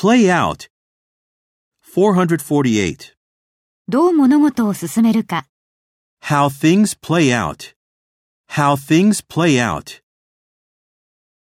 Play out. 448. どう物事を進めるか。 How things play out. How things play out.